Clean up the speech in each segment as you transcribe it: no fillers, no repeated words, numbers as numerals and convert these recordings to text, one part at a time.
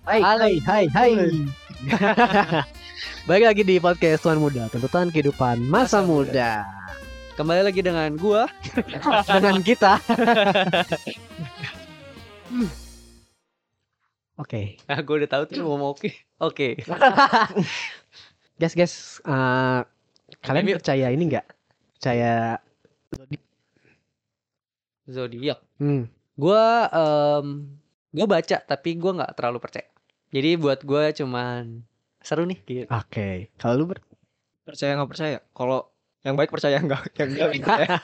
Hai. Balik lagi di podcast Tuan Muda, tuntutan kehidupan masa muda. Kembali lagi dengan gua Dengan kita. Oke. Gua udah tahu tuh mau Oke. Guys, kalian percaya ini nggak? Percaya zodiak. Gua Gua baca tapi gua nggak terlalu percaya. Jadi buat gua cuman seru nih gitu. Oke. Kalau lu percaya nggak percaya? Kalau yang baik percaya yang enggak.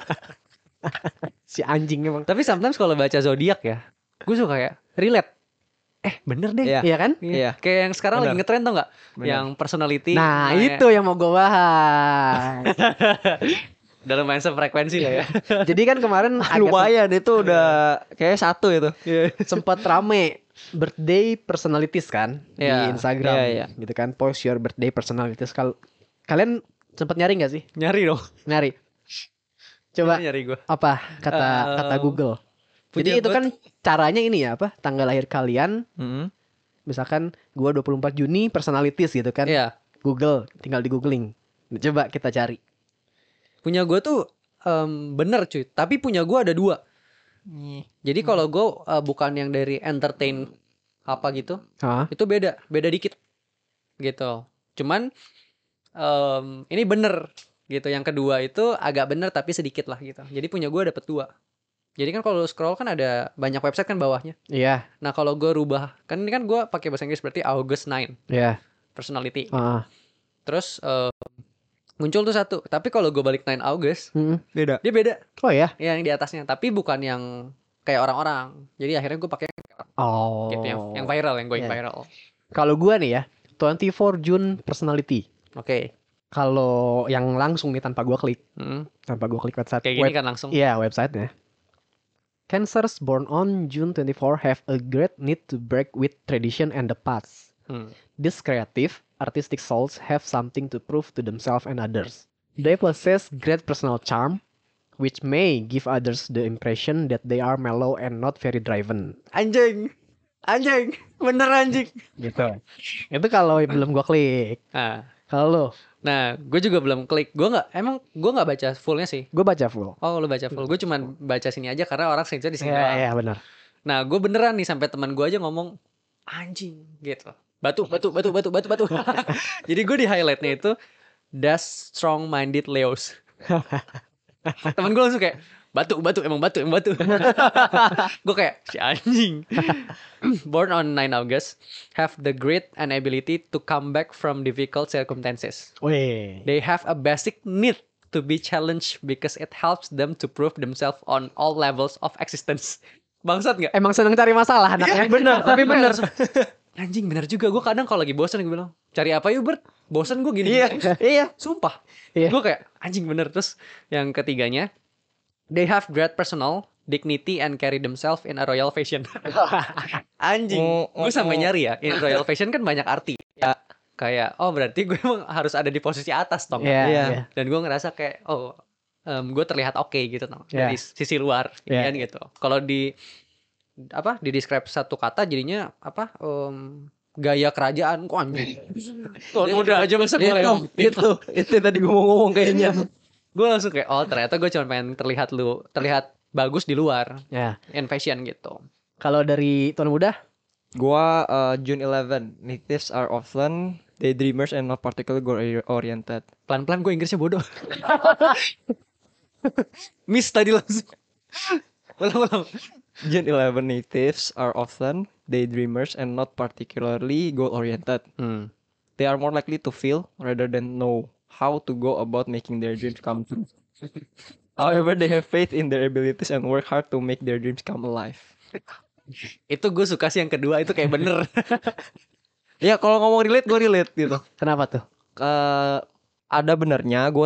Si anjing emang. Tapi sometimes kalau baca zodiak ya, gue suka kayak relate. Bener deh, Iya. Iya kan? Iya. Kayak yang sekarang Bener. lagi ngetren tau nggak? Bener. Yang personality. Nah, itu yang mau gue bahas. Dalam main sefrekuensi lah ya. Jadi kan kemarin Lumayan itu udah kayak satu itu. sempat rame birthday personalities kan di Iya, Instagram, iya. gitu kan, post your birthday personalities. Kalian sempat nyari nggak sih? Nyari dong. Nyari. Coba Nyari gue. apa kata Google. Jadi itu kan caranya ini ya, apa? Tanggal lahir kalian. Misalkan gua 24 Juni personalities gitu kan. Iya. Google, tinggal di googling. Coba kita cari. Punya gue tuh bener cuy. Tapi punya gue ada 2. Jadi kalau gue bukan yang dari entertain apa gitu, itu beda dikit gitu. Cuman ini bener gitu. Yang kedua itu agak bener tapi sedikit lah gitu. Jadi punya gue dapet 2. Jadi kan kalau scroll kan ada banyak website kan bawahnya. Iya. Nah kalau gue rubah, kan ini kan gue pakai bahasa Inggris berarti August 9 personality. Terus muncul tuh 1. Tapi kalau gue balik 9 August, Beda. dia beda. Oh ya. Yang di atasnya, tapi bukan yang kayak orang-orang. Jadi akhirnya gue pakai gitu yang viral, yang going viral. Kalau gua nih ya, 24 June personality. Oke. Kalau yang langsung nih tanpa gua klik website. Kayak gini kan langsung. Iya, websitenya. Cancers born on June 24 have a great need to break with tradition and the past. These creative, artistic souls have something to prove to themselves and others. They possess great personal charm, which may give others the impression that they are mellow and not very driven. Anjing, bener anjing. Gitu. Itu kalau belum gua klik. Kalau lo? Nah, gue juga belum klik. Gue nggak baca fullnya sih. Gue baca full. Oh, lu baca full. Gue cuman baca sini aja karena orang screenshot di sini. Iya, benar. Nah, gue beneran nih sampai teman gue aja ngomong anjing gitu. Batu. Jadi gue di highlightnya itu das strong minded Leos. Temen gue langsung kayak batu. Gue kayak si anjing. Born on 9 August have the grit and ability to come back from difficult circumstances. Wih. They have a basic need to be challenged because it helps them to prove themselves on all levels of existence. Bangsat nggak? Emang seneng cari masalah anaknya. Bener, tapi bener. Anjing bener juga. Gue kadang kalau lagi bosan gue bilang, cari apa yuk Bert? Bosan gue gini. Iya. Sumpah. Gue kayak anjing bener. Terus yang ketiganya, they have great personal dignity and carry themselves in a royal fashion. Anjing. Gue sampai nyari ya. In royal fashion kan banyak arti. Ya. Kayak berarti gue emang harus ada di posisi atas tong. Iya. Dan gue ngerasa kayak gue terlihat oke gitu tong. Dari sisi luar kan gitu. Kalau di describe satu kata jadinya gaya kerajaan kok anjing. Tuan muda aja masa gue Itu tadi gue mau ngomong kayaknya. Gue langsung kayak ternyata gue cuma pengen terlihat bagus di luar. In fashion gitu. Kalau dari Tuan Muda? Gua June 11. Natives are often daydreamers and not particularly goal oriented. Pelan-pelan gue Inggrisnya bodoh. Miss tadi langsung. Ulang. June 11 natives are often daydreamers and not particularly goal oriented. They are more likely to feel rather than know how to go about making their dreams come true. However, they have faith in their abilities and work hard to make their dreams come alive. Itu gue suka sih yang kedua, itu kayak bener. Ya kalau ngomong relate, gue relate gitu. Kenapa tuh? Ada benernya, gue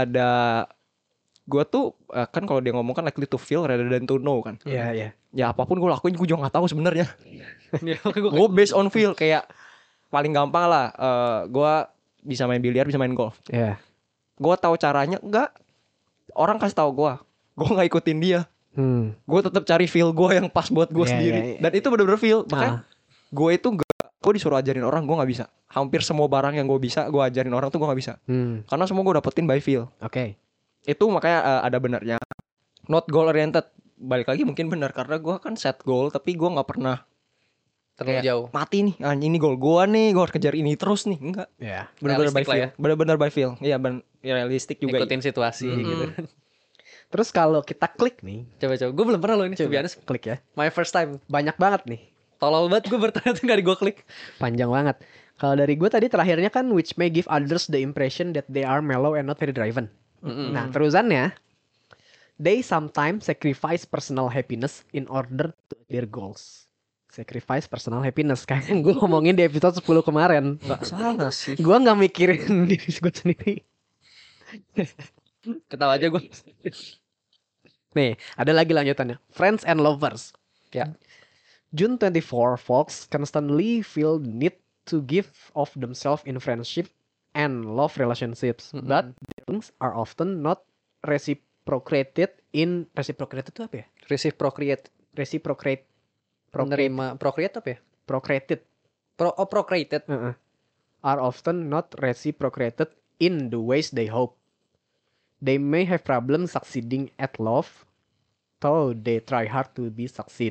tuh kan kalau dia ngomong kan likely to feel rather than to know kan. Iya. Ya apapun gue lakuin gue juga nggak tahu sebenarnya. Gue based on feel. Kayak paling gampang lah, gue bisa main biliar, bisa main golf. Iya. Gue tahu caranya enggak. Orang kasih tahu gue nggak ikutin dia. Gue tetap cari feel gue yang pas buat gue sendiri. Dan itu bener-bener feel. Makanya gue itu gue disuruh ajarin orang gue nggak bisa. Hampir semua barang yang gue bisa gue ajarin orang tuh gue nggak bisa. Karena semua gue dapetin by feel. Oke. Itu makanya ada benernya. Not goal oriented. Balik lagi mungkin benar karena gue kan set goal tapi gue nggak pernah terlalu jauh. Mati nih, ini goal gue nih, gue harus kejar ini terus nih. Enggak. Ya. Benar-benar by feel. Ya. Benar-benar by feel. Iya, realistik juga. Ikutin situasi gitu. Terus kalau kita klik nih, coba. Gue belum pernah loh ini. Coba klik ya. My first time. Banyak banget nih. Tolol banget gue bertanya tuh gak gue klik. Panjang banget. Kalau dari gue tadi terakhirnya kan which may give others the impression that they are mellow and not very driven. Nah, terusannya they sometimes sacrifice personal happiness in order to their goals. Sacrifice personal happiness kayak gue ngomongin di episode 10 kemarin. Gak salah sih. Gue gak mikirin diri gue sendiri. Ketawa aja gue. Nih, ada lagi lanjutannya. Friends and lovers. Ya. June 24 folks constantly feel the need to give of themselves in friendship and love relationships, but things are often not reciprocated in reciprocated itu apa ya? Reciprocate. Menerima procreate apa ya? Procreated. Procreated. Are often not reciprocated in the ways they hope. They may have problems succeeding at love, though they try hard to be succeed.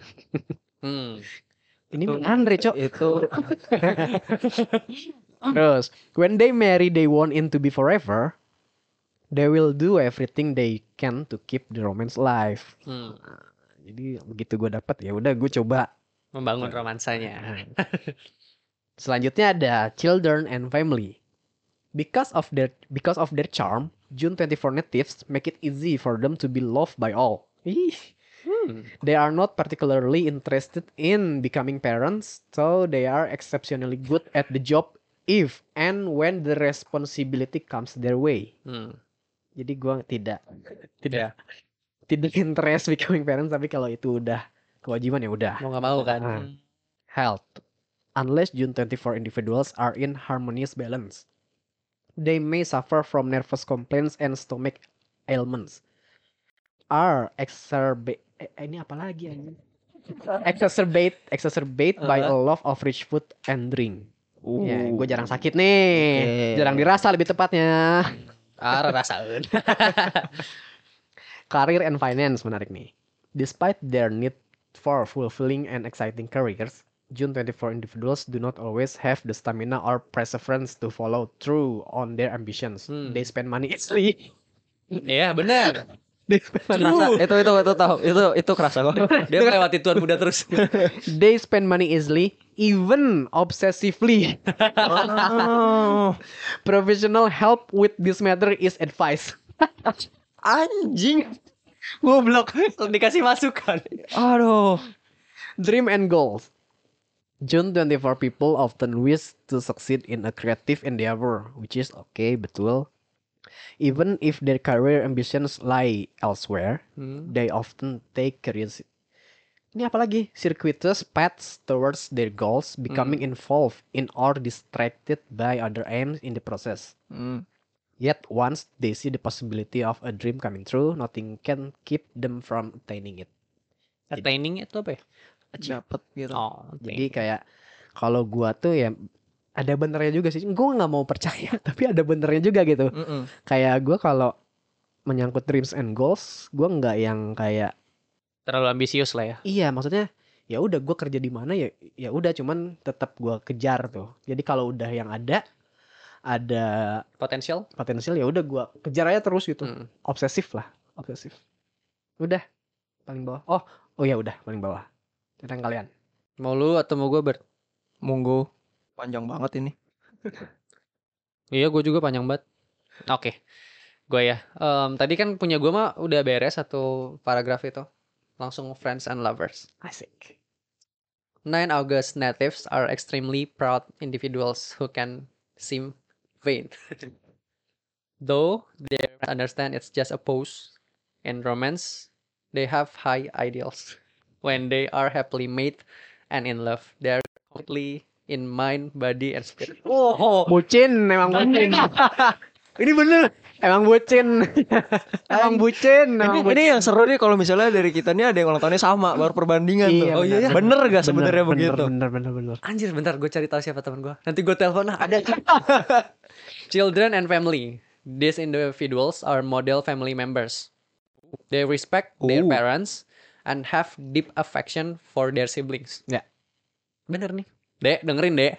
Ini Andre cok. Itu. Terus, when they marry, they want it to be forever. They will do everything they can to keep the romance alive. Jadi begitu gue dapat ya udah gue coba membangun romansanya. Selanjutnya ada children and family. Because of their charm, June 24 natives make it easy for them to be loved by all. They are not particularly interested in becoming parents, so they are exceptionally good at the job if and when the responsibility comes their way. Jadi gue tidak interest becoming parents, tapi kalau itu udah kewajiban ya udah. Mau nggak mau kan. Health. Unless June 24 individuals are in harmonious balance, they may suffer from nervous complaints and stomach ailments. Are exacerbate by a love of rich food and drink. Ya, gue jarang sakit nih. Jarang dirasa lebih tepatnya. Rasain. Career and finance menarik nih. Despite their need for fulfilling and exciting careers, June 24 individuals do not always have the stamina or perseverance to follow through on their ambitions. They spend money easily. Iya benar. Itu kerasa kok. Dia melewati tuan muda terus. They spend money easily, even obsessively. Professional help with this matter is advised. Anjing. Goblok. Dikasih masukan. Aduh. Dream and goals. June 24 people often wish to succeed in a creative endeavor, which is okay, betul. Even if their career ambitions lie elsewhere, they often take curiosity. Ini apa lagi? Circuitous paths towards their goals, becoming involved in or distracted by other aims in the process. Yet once they see the possibility of a dream coming true, nothing can keep them from attaining it. Attaining itu apa ya? Dapat gitu. Jadi kayak kalau gua tuh ya ada benernya juga sih. Gue nggak mau percaya, tapi ada benernya juga gitu. Kayak gue kalau menyangkut dreams and goals, gue nggak yang kayak terlalu ambisius lah ya. Iya, maksudnya ya udah gue kerja di mana ya udah, cuman tetap gue kejar tuh. Jadi kalau udah yang ada potensial ya udah gue kejar aja terus gitu. Obsesif. Udah paling bawah. Oh ya udah paling bawah. Tentang kalian. Mau lu atau mau gue Monggo. Panjang banget ini. Iya, gue juga panjang banget. Oke. Gue ya. Tadi kan punya gue mah udah beres satu paragraf itu. Langsung friends and lovers. Asik. 9 August natives are extremely proud individuals who can seem vain. Though they understand it's just a pose. In romance, they have high ideals. When they are happily made and in love, they are completely in mind, body, and spirit. Bucin, memang bucin. Ini bener. Emang bucin. Emang bucin. Ini yang seru nih kalau misalnya dari kita nih ada yang ulang tahunnya sama, baru perbandingan tuh. Iya, Oh iya ya. Bener gak sebenarnya begitu? Bener. Anjir, bentar gue cari tahu siapa teman gue. Nanti gue telepon lah. Ada. Children and family. These individuals are model family members. They respect their parents and have deep affection for their siblings. Ya. Bener nih. Dek, dengerin Dek.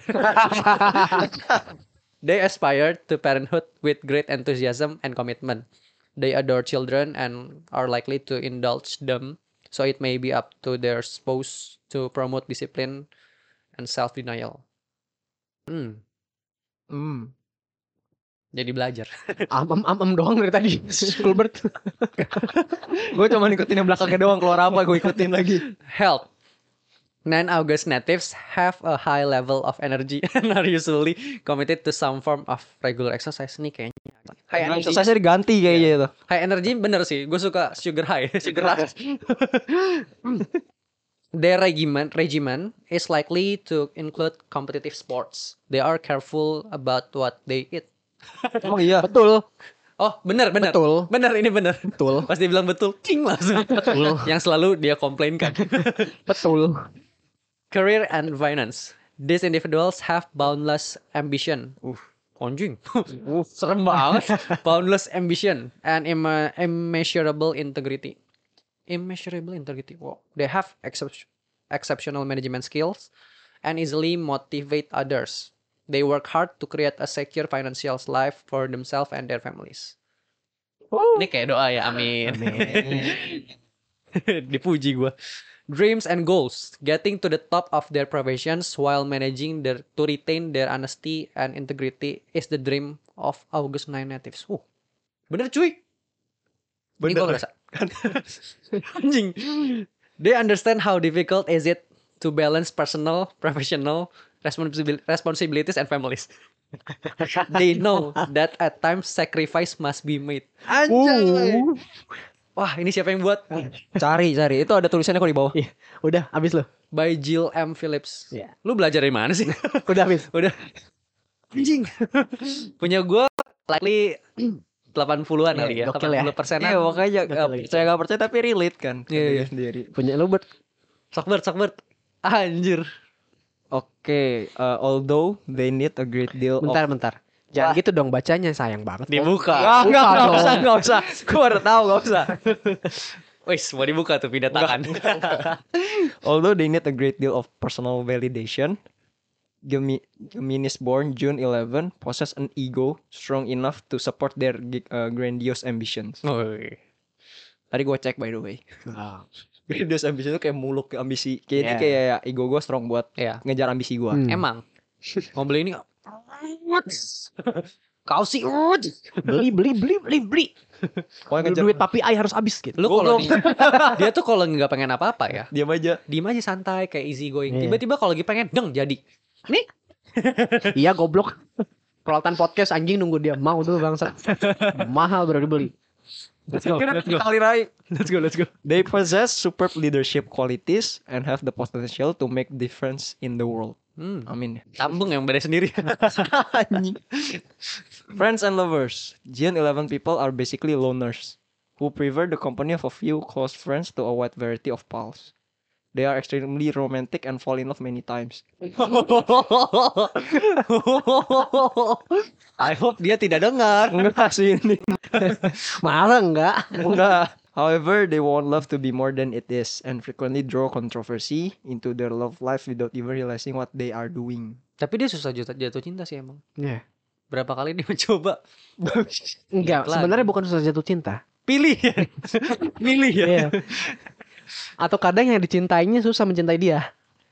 They aspire to parenthood with great enthusiasm and commitment. They adore children and are likely to indulge them, so it may be up to their spouse to promote discipline and self-denial. Jadi belajar. Am doang dari tadi. Gilbert. Gue cuma ikutin yang belakangnya doang, keluar apa gue ikutin lagi. Health. 9 August natives have a high level of energy and are usually committed to some form of regular exercise. Nih kayaknya high energy. Exercise diganti kayaknya itu. High energy bener sih. Gue suka sugar high. Sugar rush. Their regimen is likely to include competitive sports. They are careful about what they eat. Emang iya. Betul. Oh bener. Betul. Bener, ini bener. Betul. Pas dia bilang betul, king langsung. Betul. Yang selalu dia komplainkan. Betul. Career and finance. These individuals have boundless ambition. Anjing. Serem banget. Boundless ambition and immeasurable integrity. Wow. They have exceptional management skills and easily motivate others. They work hard to create a secure financial life for themselves and their families. Ini kayak doa ya, amin. Dipuji gue. Dreams and goals. Getting to the top of their professions while managing to retain their honesty and integrity is the dream of August 9 natives. Bener cuy. Ini gue ngerasa. Anjing. They understand how difficult is it to balance personal, professional responsibilities and families. They know that at times sacrifice must be made. Anjay. Wah, ini siapa yang buat? Cari. Itu ada tulisannya kok di bawah. Iya. Udah habis lo. By Jill M. Phillips. Iya. Lu belajar dari mana sih? Udah habis. Udah. Anjing. Punya gue likely 80-an kali ya. Gokil ya. 80%-an. Iya makanya saya gak percaya tapi relate kan. Iya. Sendiri. Punya lu Bert. Sakbert. Anjir. Oke, although they need a great deal Bentar. Jangan gitu dong bacanya, sayang banget. Dibuka. Enggak usah. Gue udah tahu, enggak usah. Wih, mau dibuka tuh pindah tangan. Although they need a great deal of personal validation, Geminis born June 11 possess an ego strong enough to support their grandiose ambitions. Tadi gue cek by the way. Grandiose ambition itu kayak muluk ambisi. Kayaknya kayak ego gue strong buat ngejar ambisi gue. Emang. Mau beli ini kau sih beli. Duit papi ai harus habis gitu. Lu kalau dia tuh kalau nggak pengen apa-apa ya, Diam aja santai kayak easy going. Tiba-tiba kalau lagi pengen, jadi. Nih. Iya goblok. Peralatan podcast anjing nunggu dia mau tuh bangsat. Mahal baru dibeli. Let's go. Let's go. They possess superb leadership qualities and have the potential to make difference in the world. Amin. Sambung yang beda sendiri. Friends and lovers. Gen 11 people are basically loners who prefer the company of a few close friends to a wide variety of pals. They are extremely romantic and fall in love many times. I hope dia tidak dengar. Enggak sih ini. Malah enggak. However, they want love to be more than it is and frequently draw controversy into their love life without even realizing what they are doing. Tapi dia susah jatuh cinta sih emang. Iya. Berapa kali dia mencoba? Enggak, sebenarnya bukan susah jatuh cinta. Pilih ya. Iya. Atau kadang yang dicintainya susah mencintai dia.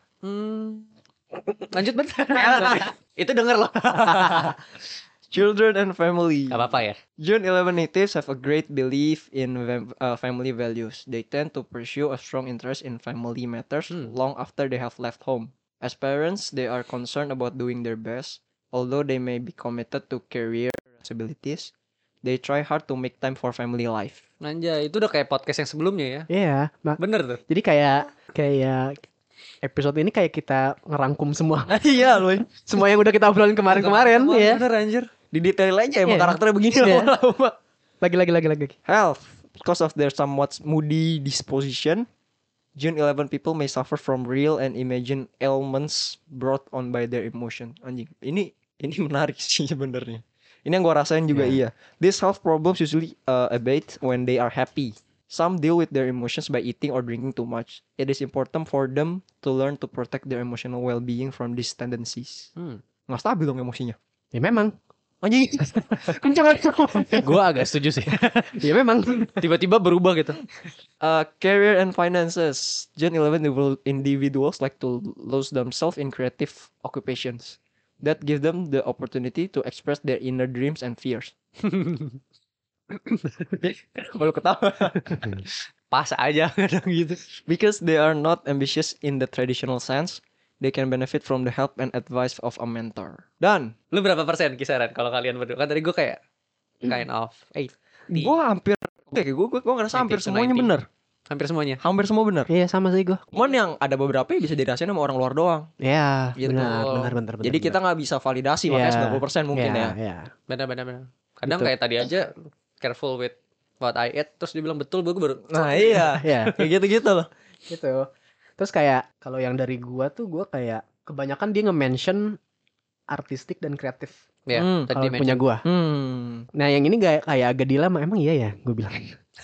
Lanjut bentar. Itu denger loh. Children and family. Gak apa-apa ya. June 11 natives have a great belief in family values. They tend to pursue a strong interest in family matters long after they have left home. As parents, they are concerned about doing their best. Although they may be committed to career responsibilities, they try hard to make time for family life. Anjay, itu udah kayak podcast yang sebelumnya ya. Iya, bener tuh. Jadi kayak episode ini kayak kita ngerangkum semua. Iya loh. Semua yang udah kita obrolin kemarin ya. Bener anjir. Didetail aja emang karakternya begini lama-lama. Lagi. Health. Because of their somewhat moody disposition, June 11 people may suffer from real and imagined ailments brought on by their emotion. Anjing, ini menarik sih sebenarnya. Ini yang gua rasain juga iya. These health problems usually abate when they are happy. Some deal with their emotions by eating or drinking too much. It is important for them to learn to protect their emotional well-being from these tendencies. Nggak stabil dong emosinya. Ya memang. Anjing, kencang. Gue agak setuju sih. Ya memang. Tiba-tiba berubah gitu. Career and finances. June 11 individuals like to lose themselves in creative occupations that give them the opportunity to express their inner dreams and fears. Baru ketawa. Pas aja kadang gitu. Because they are not ambitious in the traditional sense, they can benefit from the help and advice of a mentor. Dan Lu berapa persen kisaran kalau kalian berdua? Kan tadi gue kayak kind of 8. gue hampir gue ngerasa hampir 90 to semuanya 90. benar. Hampir semuanya. Hampir semua benar. Iya sama sih gue. Cuman yang ada beberapa yang bisa dirasain sama orang luar doang. Iya Gitu. benar. Jadi kita nggak bisa validasi makanya 90% mungkin ya. Iya. Benar. Kadang kayak tadi aja careful with what I ate, terus dia bilang betul, gue baru. Nah iya. Iya. Kayak gitu-gitu loh. Gitu. Terus kayak kalau yang dari gua tuh gua kayak kebanyakan dia nge-mention artistik dan kreatif. Ya, tadi Kalau punya gua. Nah, yang ini kayak agak dilema, emang iya ya gua bilang.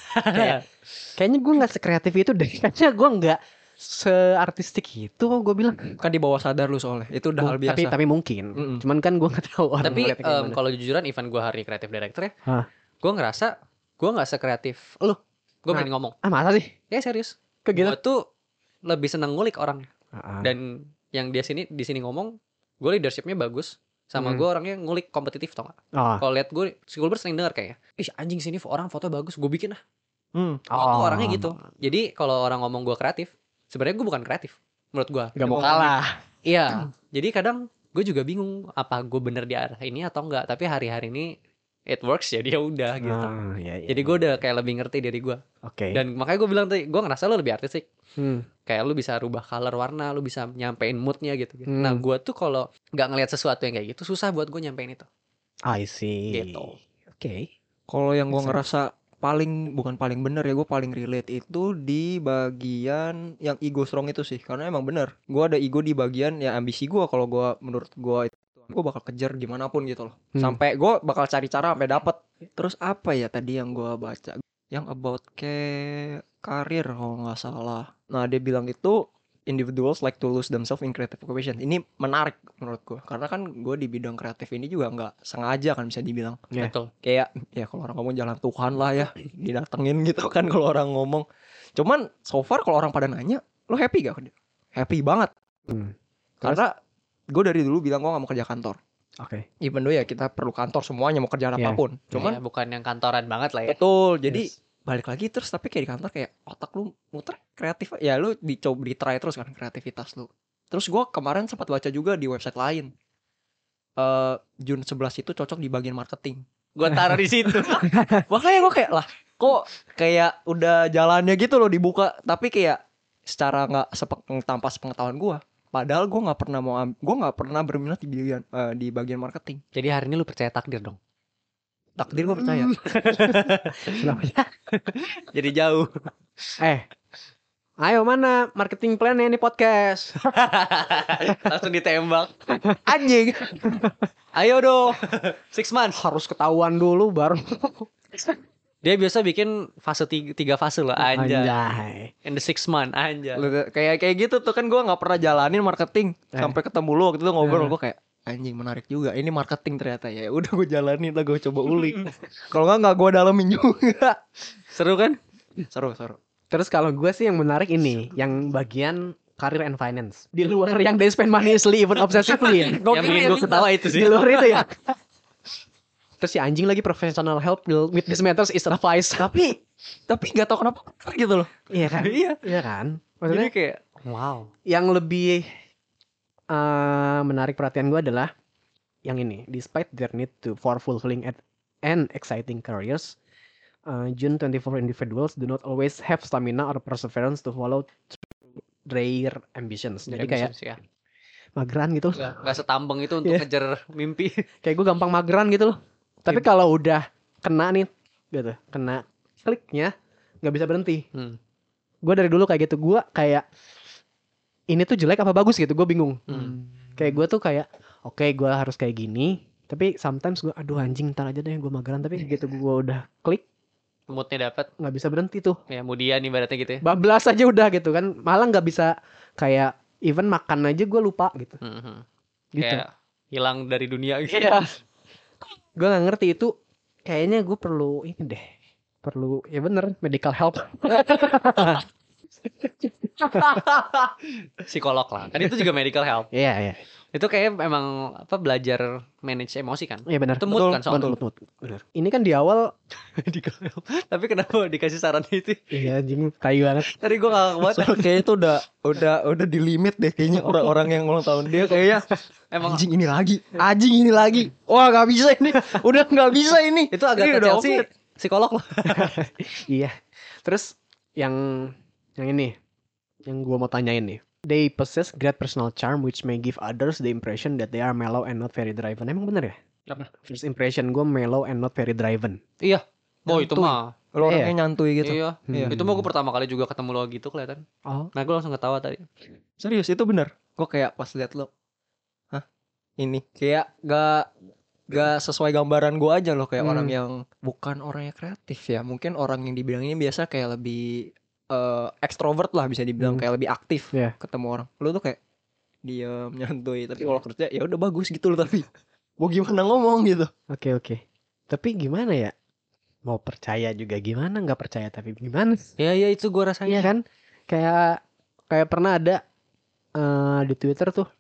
Kayaknya gua enggak sekreatif itu deh. Kayaknya gua enggak seartistik itu gua bilang. Kan di bawah sadar lu soalnya. Itu udah hal biasa. Tapi mungkin. Cuman kan gua enggak tahu orang Tapi ngeliatnya kayak gimana. kalau jujuran event gua hari kreatif director ya. Gua ngerasa gua enggak sekreatif lu. Gua berani ngomong. Ah, masa sih? Ya serius. Kegitu. Gua tuh lebih seneng ngulik orang. Dan yang di sini ngomong, gue leadershipnya bagus, sama gue orangnya ngulik kompetitif tau gak? Kalau lihat gue, si Gilbert sering denger kayak, ih anjing sini orang foto bagus, gue bikin lah. Tuh orangnya gitu. Jadi kalau orang ngomong gue kreatif, sebenarnya gue bukan kreatif, menurut gue. Gak mau kalah. Iya. Jadi kadang gue juga bingung apa gue bener di arah ini atau enggak. Tapi hari-hari ini it works jadi ya udah gitu. Iya. Jadi gue udah kayak lebih ngerti dari gue. Oke. Dan makanya gue bilang tadi, gue ngerasa lo lebih artistik. Kayak lu bisa rubah color warna, lu bisa nyampein moodnya gitu. Nah gue tuh kalau nggak ngelihat sesuatu yang kayak gitu, susah buat gue nyampein itu. I see. Gitu. Oke. Kalau yang gue ngerasa bukan paling bener ya, gue paling relate itu di bagian yang ego strong itu sih. Karena emang bener, gue ada ego di bagian ya ambisi gue. Kalau gue menurut gue gue bakal kejar gimana pun gitu loh. Sampai gue bakal cari cara sampai dapet. Terus apa ya tadi yang gue baca? Yang about kayak karir kalau nggak salah. Nah dia bilang itu individuals like to lose themselves in creative occupation. Ini menarik menurut gue. Karena kan gue di bidang kreatif ini juga nggak sengaja kan bisa dibilang. Betul. Kayak ya kalau orang ngomong jalan Tuhan lah ya. Didatengin gitu kan kalau orang ngomong. Cuman so far kalau orang pada nanya, lo happy gak? Happy banget. Karena gue dari dulu bilang gue gak mau kerja kantor. Oke. Even though ya kita perlu kantor semuanya mau kerjaan apapun. Cuman bukan yang kantoran banget lah ya. Betul. Jadi balik lagi terus tapi kayak di kantor kayak otak lu muter kreatif. Ya lu dicoba ditry terus kan kreativitas lu. Terus gue kemarin sempat baca juga di website lain. June 11 itu cocok di bagian marketing. Gue taruh di situ. Makanya gue kayak lah kok kayak udah jalannya gitu loh dibuka. Tapi kayak secara gak tanpa sepengetahuan gue. Padahal gue nggak pernah berminat di bagian marketing. Jadi hari ini lu percaya takdir dong? Takdir gue percaya. Jadi jauh. Ayo mana marketing plan-nya ini podcast. Langsung ditembak. Anjing. Ayo dong. 6 months. Harus ketahuan dulu baru. Dia biasa bikin fase 3 fase loh anjay. In the 6 month anjay. Kayak gitu tuh kan gue nggak pernah jalanin marketing sampai ketemu lu waktu itu ngobrol gue kayak anjing menarik juga ini marketing ternyata ya udah gue jalanin lah gue coba ulik. Kalau nggak gue dalemin juga. Seru kan? Seru. Terus kalau gue sih yang menarik ini yang bagian career and finance di luar yang they spend money easily even obsessively ya. Yang bikin gue ketawa itu sih. Di luar itu ya. Terus si anjing lagi professional help with this matters is advice. Tapi nggak tahu kenapa gitu loh. Iya kan? Iya kan? Maksudnya jadi kayak wow. Yang lebih menarik perhatian gue adalah yang ini. Despite their need for fulfilling and exciting careers, June 24 individuals do not always have stamina or perseverance to follow their ambitions. Jadi kayak mageran gitu. Gak setambeng itu untuk ngejar mimpi. Kayak gue gampang mageran gitu loh. Tapi kalau udah kena nih gitu, kena kliknya nggak bisa berhenti. Gue dari dulu kayak gitu. Gue kayak ini tuh jelek apa bagus gitu, gue bingung. Kayak gue tuh kayak oke, gue harus kayak gini. Tapi sometimes gue aduh anjing ntar aja deh gue mageran. Tapi gitu gue udah klik, moodnya dapat, nggak bisa berhenti tuh. Ya kemudian ibaratnya gitu ya. Bablas aja udah gitu kan. Malah nggak bisa kayak even makan aja gue lupa gitu. Gitu. Kayak hilang dari dunia gitu. Iya. Gue nggak ngerti itu. Kayaknya gue perlu ini deh. Perlu ya bener medical help. Psikolog lah. Kan itu juga medical help. Iya, iya. Itu kayak emang belajar manage emosi kan? Iya benar. Itu mood kan soalnya. Mood. Benar. Ini kan di awal medical help. Tapi kenapa dikasih saran itu? iya anjing tai banget. Tadi gue gak kuat. Kayaknya itu udah di limit deh kayaknya orang-orang yang ulang tahun dia kayaknya emang anjing ini lagi. Wah, nggak bisa ini. Udah nggak bisa ini. Itu agak Chelsea psikolog loh. Iya. Terus yang ini yang gue mau tanyain nih. They possess great personal charm which may give others the impression that they are mellow and not very driven. Emang bener ya? Apa? First impression gue mellow and not very driven. Iya. Oh itu mah. Lo orangnya nyantui gitu. Iya. Itu mah gue pertama kali juga ketemu lo gitu kelihatan. Oh. Nah gue langsung ketawa tadi. Serius itu bener. Gue kayak pas liat lo. Hah? Ini kayak gak sesuai gambaran gue aja loh. Kayak orang yang bukan orang yang kreatif ya. Mungkin orang yang dibilang ini biasa kayak lebih extrovert lah bisa dibilang, kayak lebih aktif ketemu orang. Lu tuh kayak diam, nyantuy, tapi kalau kerja ya udah bagus gitu loh. Tapi mau gimana ngomong gitu. Oke. Tapi gimana ya? Mau percaya juga gimana, nggak percaya tapi gimana? Iya itu gue rasanya. Iya kan? Kayak pernah ada di Twitter tuh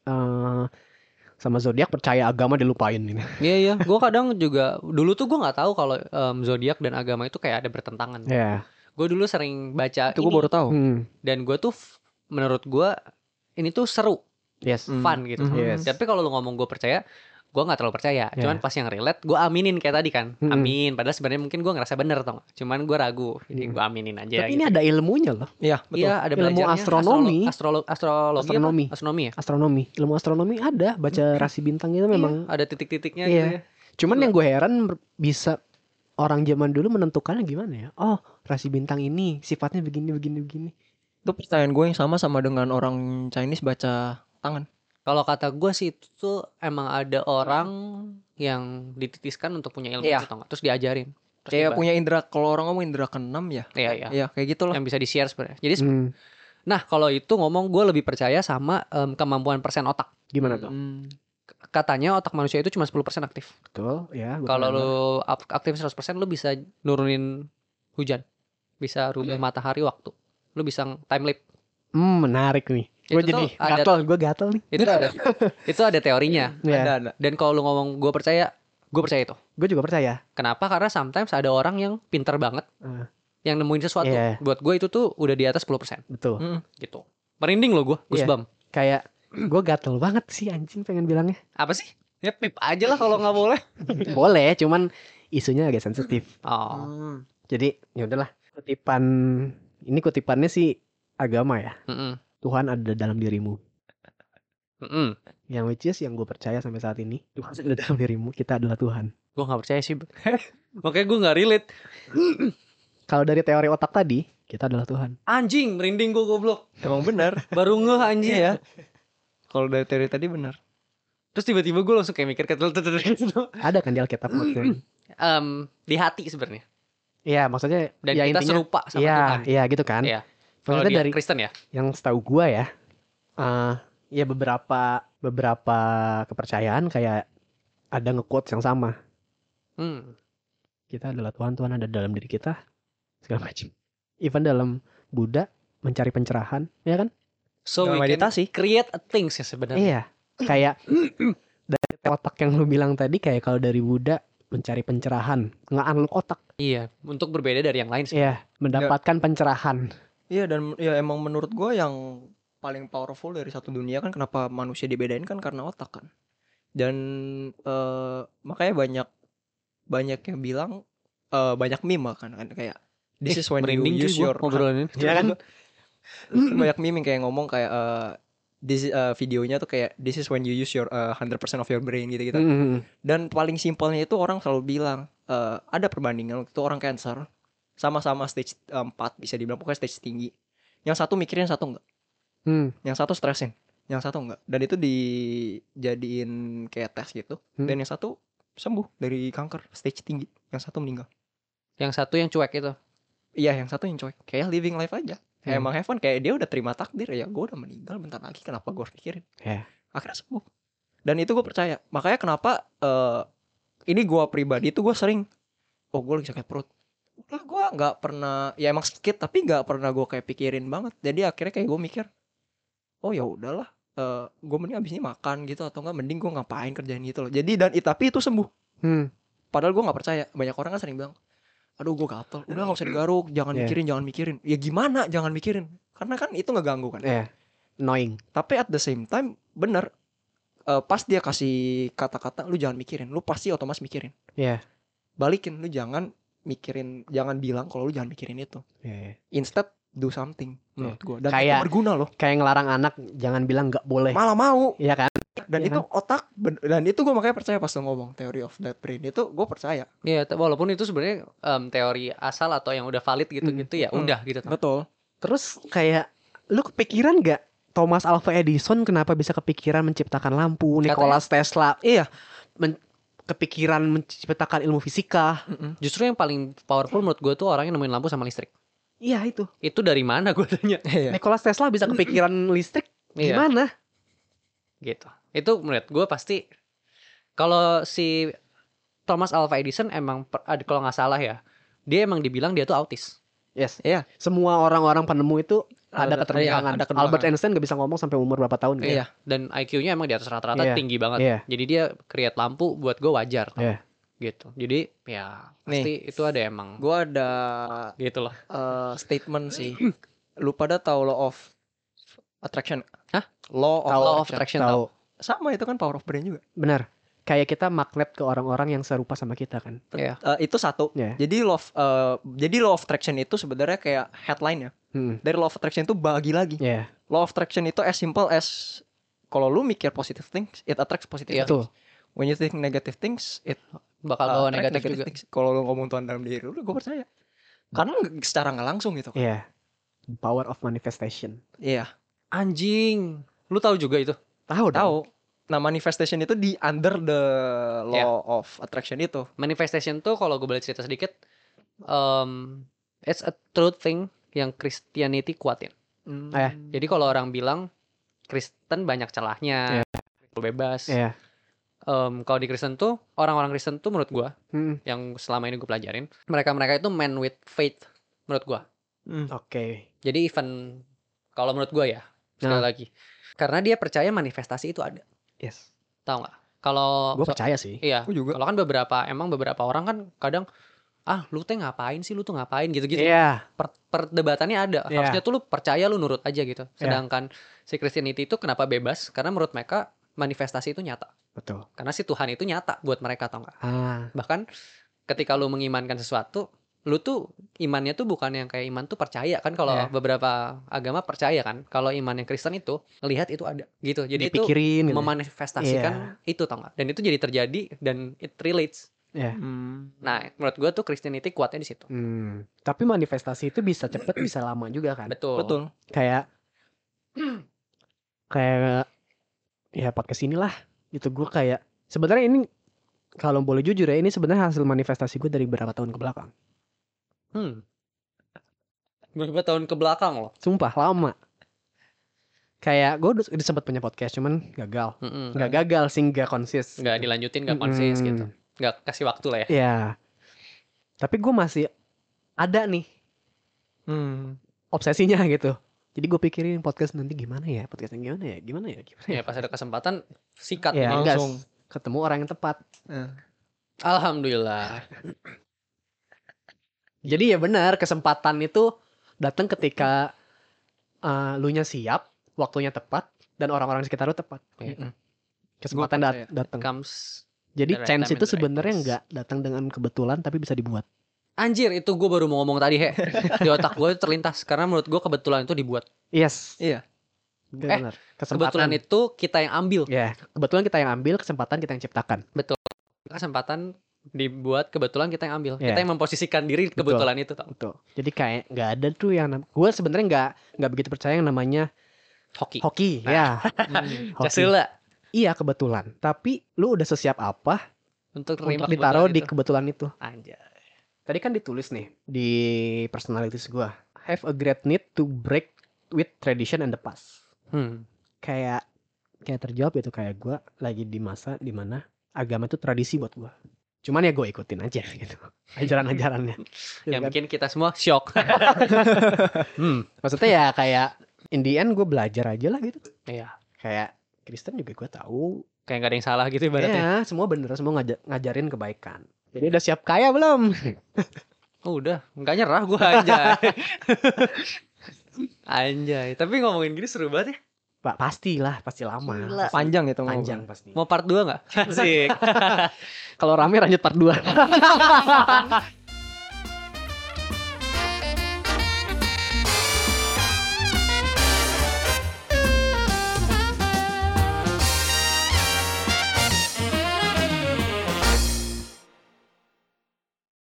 sama zodiak percaya agama dilupain ini. Iya. Gue kadang juga dulu tuh gue nggak tahu kalau zodiak dan agama itu kayak ada bertentangan. Iya. Gue dulu sering baca itu gue baru tahu. Dan gue tuh menurut gue ini tuh seru, fun gitu. Tapi kalau lu ngomong gue percaya, gue nggak terlalu percaya. Cuman pas yang relate, gue aminin kayak tadi kan, amin. Padahal sebenarnya mungkin gue ngerasa bener tau gak? Cuman gue ragu, jadi gue aminin aja. Tapi gitu. ini ada ilmunya loh. Iya betul. Iya ada ilmu belajarnya. astronomi, Astronomi ya. Astronomi, ilmu astronomi ada. Baca rasi bintang itu memang ada titik-titiknya. Iya. Gitu ya. Cuman yang gue heran bisa orang zaman dulu menentukannya gimana ya? Oh, rasi bintang ini sifatnya begini. Itu pertanyaan gue yang sama dengan orang Chinese baca tangan. Kalau kata gue sih itu tuh emang ada orang yang dititiskan untuk punya ilmu itu, terus diajarin. Terus kayak punya indera, kalau orang ngomong indera keenam ya. Iya, kayak gitu loh. Yang bisa di-share sebenarnya. Jadi nah, kalau itu ngomong gue lebih percaya sama kemampuan persen otak. Gimana tuh? Katanya otak manusia itu cuma 10% aktif. Betul, ya. Kalau lu aktif 100%, lu bisa nurunin hujan. Bisa rubah matahari waktu. Lu bisa time lapse. Menarik nih. Gue jadi gatel nih. Itu ada teorinya. Ada. Dan kalau lu ngomong gue percaya itu. Gue juga percaya. Kenapa? Karena sometimes ada orang yang pinter banget. Yang nemuin sesuatu. Buat gue itu tuh udah di atas 10%. Betul. Gitu. Merinding lo gue, goosebump. Kayak gue gatel banget sih anjing pengen bilangnya. Apa sih? Ya pip aja lah kalau nggak boleh. Boleh, cuman isunya agak sensitif. Jadi ya udahlah. Kutipannya sih agama ya. Tuhan ada dalam dirimu. Yang which is yang gue percaya sampai saat ini, Tuhan ada dalam dirimu. Kita adalah Tuhan. Gue nggak percaya sih. Makanya gue nggak relate. Kalau dari teori otak tadi, kita adalah Tuhan. Anjing, merinding gue goblok. Emang benar. Baru ngeh anjing ya. Kalau dari teori tadi benar. Terus tiba-tiba gue langsung kayak mikir ada kan di Alkitab maksudnya. Di hati sebenarnya. Iya, maksudnya dan ya kita intinya, serupa sama Tuhan. Iya, gitu kan. Iya. Maksudnya Kalau dari Kristen ya. Yang setahu gue ya, ya beberapa kepercayaan kayak ada nge-quotes yang sama. Kita adalah Tuhan, Tuhan ada dalam diri kita, segala macam. Even dalam Buddha mencari pencerahan, ya kan? So we meditasi, create a things ya sebenarnya. Iya, kayak dari otak yang lu bilang tadi, kayak kalau dari Buddha mencari pencerahan, nge-unlock otak. Iya, untuk berbeda dari yang lain sih. Iya, mendapatkan pencerahan. Iya, dan ya emang menurut gue yang paling powerful dari satu dunia kan, kenapa manusia dibedain kan karena otak kan. Dan makanya banyak yang bilang banyak meme kan kayak this is when you use your ngobrolin. Ya kan. Banyak meme kayak ngomong kayak videonya tuh kayak this is when you use your 100% of your brain gitu-gitu. Dan paling simpelnya itu orang selalu bilang ada perbandingan waktu itu orang cancer sama-sama stage 4 bisa dibilang pokoknya stage tinggi. Yang satu mikirin, yang satu enggak. Yang satu stresin, yang satu enggak. Dan itu dijadiin kayak tes gitu. Dan yang satu sembuh dari kanker stage tinggi, yang satu meninggal. Yang satu yang cuek itu. Iya, yang satu yang cuek. Kayak living life aja. Emang have fun, kayak dia udah terima takdir ya, gue udah meninggal bentar lagi, kenapa gue harus pikirin. Akhirnya sembuh. Dan itu gue percaya. Makanya kenapa ini gue pribadi tuh gue sering gue lagi sakit perut. Udah gue gak pernah, ya emang sakit tapi gak pernah gue kayak pikirin banget. Jadi akhirnya kayak gue mikir, oh ya udahlah, gue mending abis ini makan gitu, atau enggak mending gue ngapain kerjain gitu loh. Jadi tapi itu sembuh. Padahal gue gak percaya. Banyak orang kan sering bilang, aduh gue gatel, udah gak usah digaruk, jangan mikirin. Ya gimana jangan mikirin, karena kan itu ngeganggu kan. Annoying. Tapi at the same time bener, pas dia kasih kata-kata lu jangan mikirin, lu pasti otomatis mikirin. Balikin, lu jangan mikirin, jangan bilang kalau lu jangan mikirin itu. Instead do something menurut gue. Dan kayak, itu berguna loh. Kayak ngelarang anak jangan bilang gak boleh, malah mau. Iya kan. Dan itu otak, dan itu gue makanya percaya pas lo ngomong theory of that brain itu, gue percaya. Iya, walaupun itu sebenarnya teori asal atau yang udah valid gitu-gitu ya, udah gitu. Betul. Terus kayak lu kepikiran gak Thomas Alva Edison kenapa bisa kepikiran menciptakan lampu? Nikola Tesla kepikiran menciptakan ilmu fisika. Justru yang paling powerful menurut gue tuh orang yang nemuin lampu sama listrik. Iya itu. Itu dari mana gue tanya? Nikola Tesla bisa kepikiran listrik gimana? Gitu. Itu menurut gue pasti, kalau si Thomas Alva Edison emang kalau nggak salah ya, dia emang dibilang dia tuh autis. Iya. Semua orang-orang penemu itu ada keterbelakangan. Albert Einstein gak bisa ngomong sampai umur berapa tahun. Iya. Dan IQ-nya emang di atas rata-rata tinggi banget. Jadi dia create lampu buat gue wajar. Gitu. Jadi ya pasti itu ada emang. Gue ada gitu loh. Statement sih. Lu pada tahu law of attraction? Hah? Law of attraction. Tahu. Sama, itu kan power of brain juga. Benar. Kayak kita magnet ke orang-orang yang serupa sama kita kan. Itu satu. Jadi law of attraction itu sebenarnya kayak headline ya. Dari law of attraction itu bagi lagi. Law of attraction itu as simple as, kalau lu mikir positive things, it attracts positive things. When you think negative things, it bakal bawa negatif juga. Kalau lu ngomong Tuhan dalam diri lu, gue percaya. Karena secara nggak langsung gitu. Power of manifestation. Anjing. Lu tahu juga itu? Tahu. Nah, manifestation itu di under the law of attraction itu. Manifestation tuh kalau gue boleh cerita sedikit, it's a truth thing yang Christianity kuatin. Jadi kalau orang bilang Kristen banyak celahnya, bebas. Kalau di Kristen tuh, orang-orang Kristen tuh menurut gue, yang selama ini gue pelajarin, mereka itu man with faith menurut gue. Jadi even kalau menurut gue ya, sekali lagi, karena dia percaya manifestasi itu ada. Tahu nggak? Kalau gue percaya sih. Iya. Kalau kan beberapa orang kan kadang, lu teh ngapain sih, lu tuh ngapain gitu-gitu. Perdebatannya ada. Harusnya tuh lu percaya, lu nurut aja gitu. Sedangkan si Christianity itu kenapa bebas? Karena menurut mereka manifestasi itu nyata. Betul. Karena si Tuhan itu nyata buat mereka, tau nggak? Bahkan ketika lu mengimankan sesuatu, lu tuh imannya tuh bukan yang kayak iman tuh percaya kan. Kalau beberapa agama percaya kan. Kalau iman yang Kristen itu lihat itu ada gitu. Jadi dipikirin, itu memanifestasikan itu, tau nggak? Dan itu jadi terjadi dan it relates. Nah, menurut gue tuh Christianity kuatnya di situ. Tapi manifestasi itu bisa cepet bisa lama juga kan. Betul. Kayak ya podcast inilah. Itu gue kayak sebenarnya ini, kalau boleh jujur ya, ini sebenarnya hasil manifestasi gue dari beberapa tahun ke belakang. Berapa tahun ke belakang loh? Sumpah lama. Kayak gue udah sempat punya podcast, cuman gagal. Nggak gagal sih, nggak konsis. Nggak dilanjutin, nggak konsis gitu. Nggak kasih waktu lah ya. Iya. Tapi gue masih ada nih obsesinya gitu. Jadi gue pikirin podcast nanti gimana ya, podcastnya gimana ya. Ya pas ada kesempatan sikat langsung ketemu orang yang tepat. Alhamdulillah. Jadi ya benar, kesempatan itu datang ketika lu nya siap, waktunya tepat, dan orang-orang sekitar lu tepat. Kesempatan datang. Jadi chance itu sebenarnya nggak datang dengan kebetulan, tapi bisa dibuat. Anjir, itu gue baru mau ngomong tadi, Di otak gue terlintas, karena menurut gue kebetulan itu dibuat. Iya. Benar. Kebetulan itu kita yang ambil. Ya, kebetulan kita yang ambil, kesempatan kita yang ciptakan. Betul. Kesempatan dibuat, kebetulan kita yang ambil. Yeah. Kita yang memposisikan diri kebetulan itu. Betul. Jadi kayak nggak ada tuh yang gue sebenarnya nggak begitu percaya yang namanya hoki. Ya. Jasula. Iya, kebetulan. Tapi lu udah sesiap apa untuk ditaruh di kebetulan itu? Anjay. Tadi kan ditulis nih di personalities gue, have a great need to break with tradition and the past. Kayak terjawab itu, kayak gue lagi di masa dimana agama itu tradisi buat gue. Cuman ya gue ikutin aja gitu ajaran-ajarannya. Yang bikin kita semua shock. Maksudnya ya kayak in the end gue belajar aja lah gitu. Iya. Kayak Kristen juga gue tahu. Kayak gak ada yang salah gitu ibaratnya. Ya, semua bener, semua ngajarin kebaikan. Jadi udah siap kaya belum? Udah, nggak nyerah gue anjay. Anjay, tapi ngomongin gini seru banget ya. Pak, pasti lama. Gila. Panjang itu Panjang pasti. Mau part 2 nggak? Asik. Kalau rame lanjut part 2.